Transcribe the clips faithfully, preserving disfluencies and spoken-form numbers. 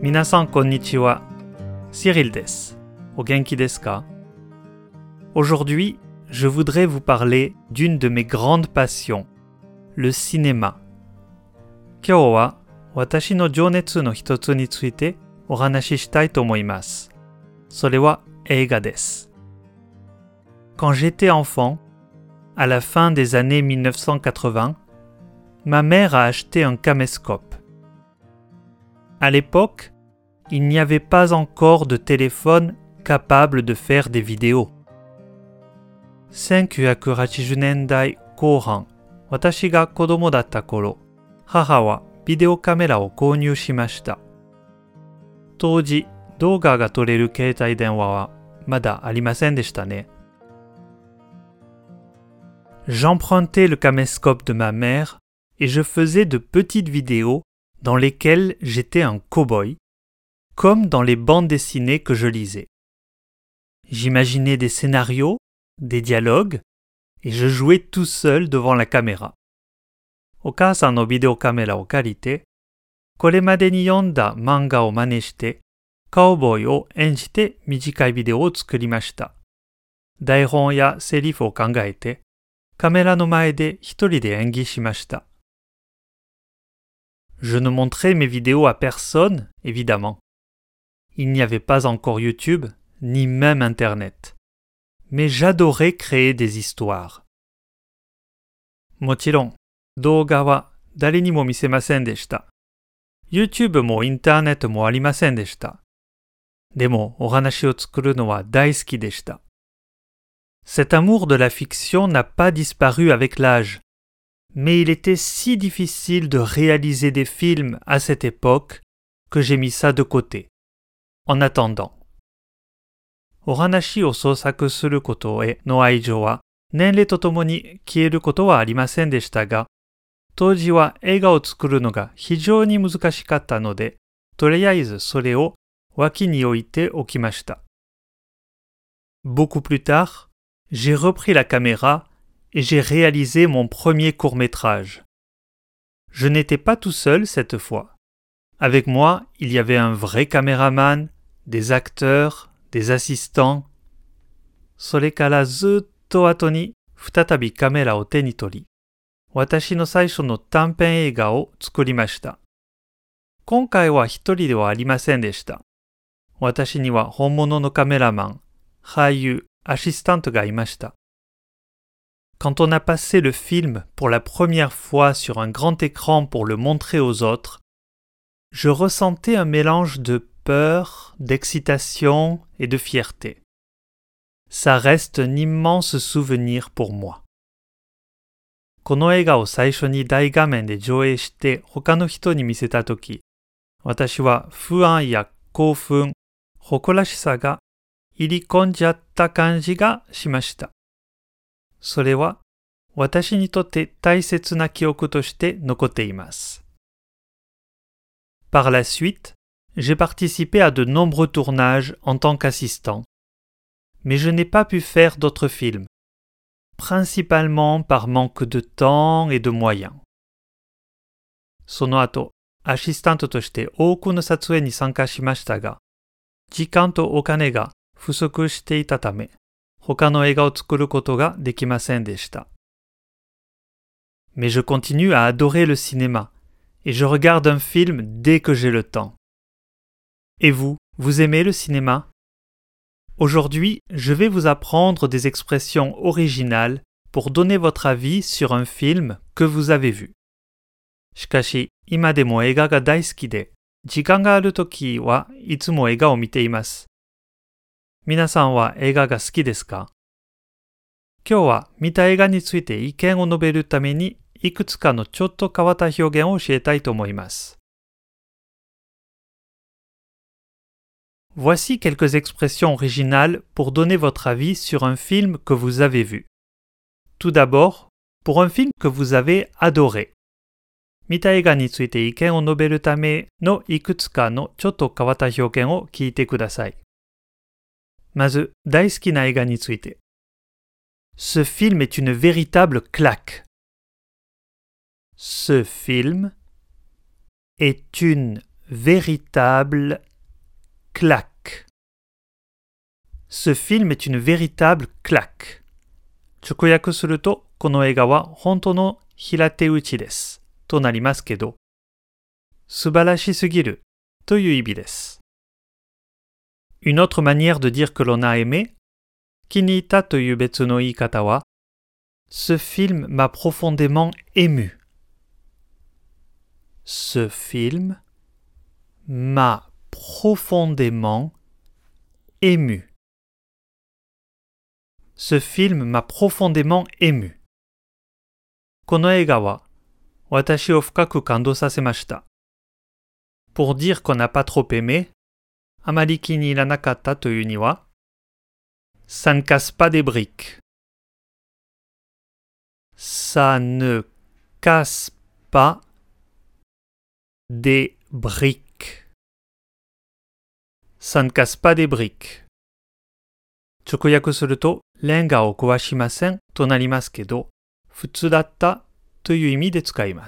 皆さんこんにちは。Cyril des. お元気ですか? Aujourd'hui, je voudrais vous parler d'une de mes grandes passions, le cinéma. 今日は私の情熱の一つについてお話ししたいと思います。それは映画です。Quand j'étais enfant, à la fin des années mille neuf cent quatre-vingts, ma mère a acheté un caméscope. À l'époque, il n'y avait pas encore de téléphone capable de faire des vidéos. せんきゅうひゃくはちじゅうねんだいこう半、私が子供だった頃、母はビデオカメラを購入しました。当時、動画が撮れる携帯電話はまだありませんでしたね。J'empruntais le caméscope de ma mère et je faisais de petites vidéos dans lesquelles j'étais un cow-boy, comme dans les bandes dessinées que je lisais. J'imaginais des scénarios, des dialogues, et je jouais tout seul devant la caméra. お母さんのビデオカメラを借りて、これまでに読んだ漫画を真似して、カウボーイを演じて短いビデオを作りました。台本やセリフを考えて、カメラの前で一人で演技しました。Je ne montrais mes vidéos à personne, évidemment. Il n'y avait pas encore YouTube, ni même Internet. Mais j'adorais créer des histoires. もちろん、動画は誰にも見せませんでした。YouTube もインターネットもありませんでした。でも、お話を作るのは大好きでした。Cet amour de la fiction n'a pas disparu avec l'âge, mais il était si difficile de réaliser des films à cette époque que j'ai mis ça de côté. En attendant. お話を創作することへの愛情は年齢とともに消えることはありませんでしたが、当時は映画を作るのが非常に難しかったので、とりあえずそれを脇に置いておきました。Beaucoup plus tard, j'ai repris la caméra et j'ai réalisé mon premier court-métrage. Je n'étais pas tout seul cette fois. Avec moi, il y avait un vrai caméraman, des acteurs, des assistants. それからずっと後に再びカメラを手に取り、私の最初の短編映画を作りました。今回は一人ではありませんでした。私には本物のカメラマン、俳優、アシスタントがいました。Quand on a passé le film pour la première fois sur un grand écran pour le montrer aux autres, je ressentais un mélange de peur, d'excitation et de fierté. Ça reste un immense souvenir pour moi. この映画を最初に大画面で上映して他の人に見せたとき、私は不安や興奮、誇らしさが入り込んじゃった感じがしました。それは私にとって大切な記憶として残っています。Par la suite, j'ai participé à de nombreux tournages en tant qu'assistant, mais je n'ai pas pu faire d'autres films, principalement par manque de temps et de moyens. その後、アシスタントとして多くの撮影に参加しましたが、時間とお金が不足していたため、他の映画を作ることができませんでした。Mais je continue à adorer le cinéma, et je regarde un film dès que j'ai le temps. Et vous, vous aimez le cinéma? Aujourd'hui, je vais vous apprendre des expressions originales pour donner votre avis sur un film que vous avez vu. しかし、今でも映画が大好きで、時間があるときはいつも映画を見ています。皆さんは映画が好きですか？今日は見た映画について意見を述べるためにいくつかのちょっと変わった表現を教えたいと思います。Voici quelques expressions originales pour donner votre avis sur un film que vous avez vu. Tout d'abord, pour un film que vous avez adoré. 見た映画について意見を述べるためのいくつかのちょっと変わった表現を聞いてください。まず、大好きな映画について。Ce film est une véritable claque. Ce film est une véritable claque. Ce film est une véritable claque. 直訳すると、この映画は本当の平手打ちです。となりますけど、素晴らしすぎるという意味です。Une autre manière de dire que l'on a aimé, 気に入ったという別の言い方は、Ce film m'a profondément ému. Ce film m'a profondément ému. Ce film m'a profondément ému. この映画は私を深く感動させました。Pour dire qu'on n'a pas trop aimé, あまり気に入らなかったというには、Ça ne casse pas des briques. Ça ne casse pas des briques. Ça ne casse pas des briques. 直訳すると、レンガを壊しませんとなりますけど、普通だったという意味で使います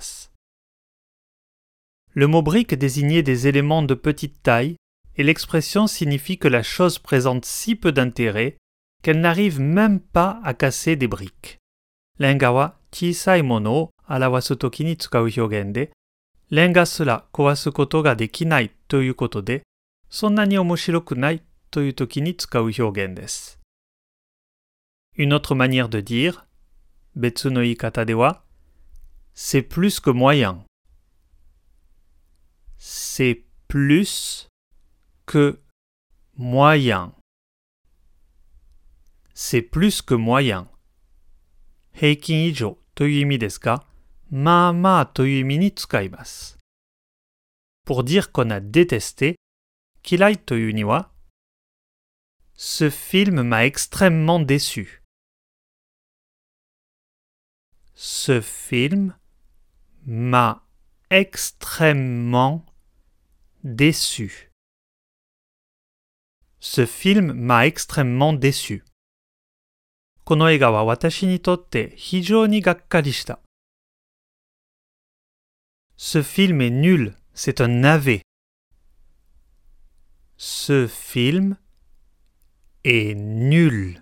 。Le mot brique désignait des éléments de petite taille et l'expression signifie que la chose présente si peu d'intérêt qu'elle n'arrive même pas à casser des briques. レンガは小さいものを表すときに使う表現で、レンガすら壊すことができないということで、そんなに面白くないというときに使う表現です。Une autre manière de dire, 別の言い方では、c'est plus que moyen. C'est plus que moyen. C'est plus que moyen. 平均以上という意味ですが、まあまあという意味に使います。Pour dire qu'on a détesté, 嫌いというには、Ce film m'a extrêmement déçu. Ce film m'a extrêmement déçu. Ce film m'a extrêmement déçu. この映画は私にとって非常にがっかりした。Ce film est nul, c'est un navet. Ce film est nul.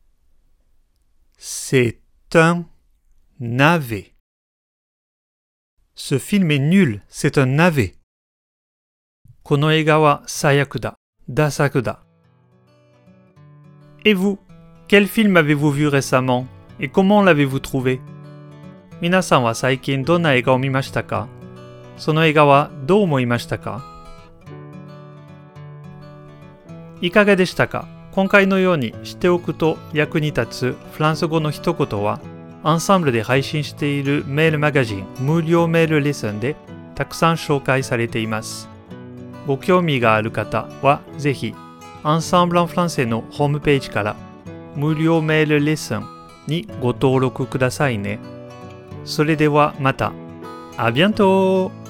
C'est un navet. Ce film est nul, c'est un navet. この映画は最悪だ、ダ作だ。Et vous, quel film avez-vous vu récemment et comment l'avez-vous trouvé? 皆さんは最近どんな映画を見ましたか？その映画はどう思いましたか？いかがでしたか？今回のように知っておくと役に立つフランス語の一言は、アンサンブルで配信しているメールマガジン無料メールレッスンでたくさん紹介されています。ご興味がある方はぜひ、アンサンブル・アン・フランセのホームページから無料メールレッスンにご登録くださいね。それではまた。À bientôt!